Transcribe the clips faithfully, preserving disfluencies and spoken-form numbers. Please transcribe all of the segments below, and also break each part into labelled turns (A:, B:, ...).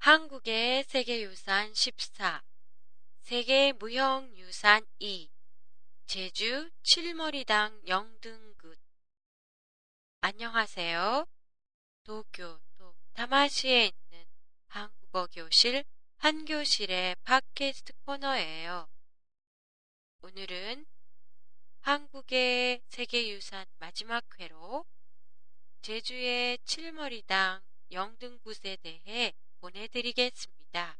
A: 한국의 세계유산 십사, 세계무형유산 이, 제주 칠머리당 영등굿. 안녕하세요. 도쿄 도 다마시에 있는 한국어 교실 한교실의 팟캐스트 코너예요. 오늘은 한국의 세계유산 마지막 회로 제주의 칠머리당 영등굿에 대해 보내드리겠습니다.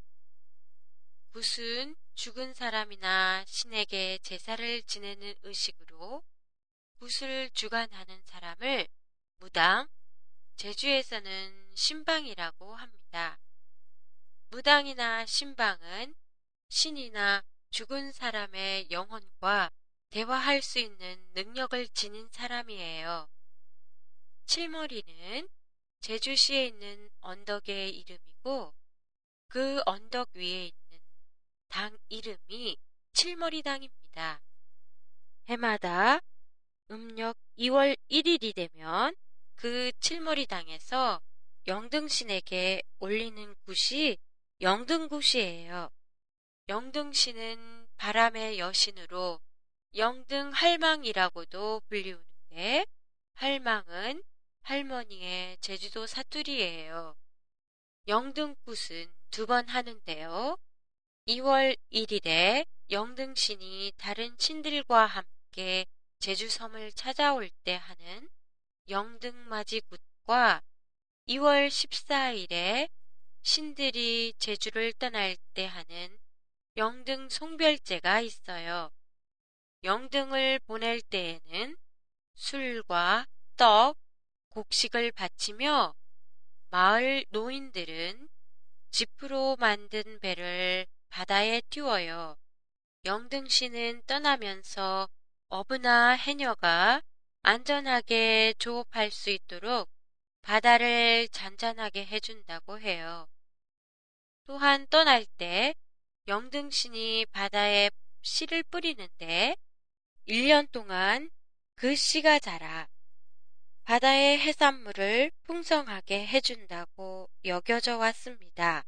A: 굿은 죽은 사람이나 신에게 제사를 지내는 의식으로 굿을 주관하는 사람을 무당, 제주에서는 신방이라고 합니다. 무당이나 신방은 신이나 죽은 사람의 영혼과 대화할 수 있는 능력을 지닌 사람이에요. 칠머리는 제주시에 있는 언덕의 이름이고 그 언덕 위에 있는 당 이름이 칠머리당입니다. 해마다 음력 이월 일일이 되면 그 칠머리당에서 영등신에게 올리는 굿이 영등굿이에요. 영등신은 바람의 여신으로 영등할망이라고도 불리우는데 할망은 할머니의 제주도 사투리예요. 영등굿은 두 번 하는데요. 이월 일일에 영등신이 다른 신들과 함께 제주섬을 찾아올 때 하는 영등맞이굿과 이월 십사일에 신들이 제주를 떠날 때 하는 영등송별제가 있어요. 영등을 보낼 때에는 술과 떡, 곡식을 바치며 마을 노인들은 지프로 만든 배를 바다에 띄워요. 영등신은 떠나면서 어부나 해녀가 안전하게 조업할 수 있도록 바다를 잔잔하게 해준다고 해요. 또한 떠날 때 영등신이 바다에 씨를 뿌리는데 일 년 동안 그 씨가 자라 바다의 해산물을 풍성하게 해준다고 여겨져 왔습니다.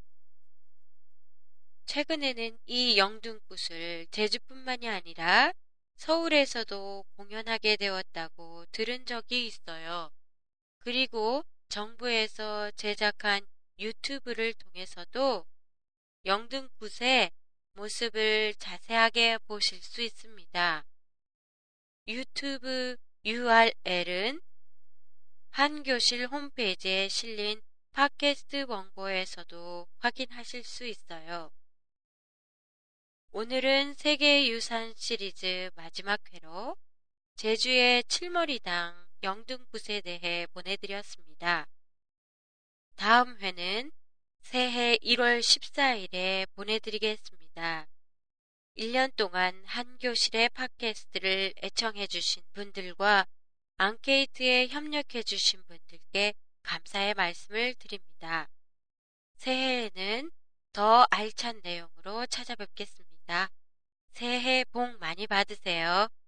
A: 최근에는 이 영등굿을 제주뿐만이 아니라 서울에서도 공연하게 되었다고 들은 적이 있어요. 그리고 정부에서 제작한 유튜브를 통해서도 영등굿의 모습을 자세하게 보실 수 있습니다. 유튜브 유알엘은 한교실 홈페이지에 실린 팟캐스트 원고에서도 확인하실 수 있어요. 오늘은 세계유산 시리즈 마지막 회로 제주의 칠머리당 영등굿에 대해 보내드렸습니다. 다음 회는 새해 일월 십사일에 보내드리겠습니다. 일 년 동안 한교실의 팟캐스트를 애청해주신 분들과 앙케이트에 협력해주신 분들께 감사의 말씀을 드립니다. 새해에는 더 알찬 내용으로 찾아뵙겠습니다. 새해 복 많이 받으세요.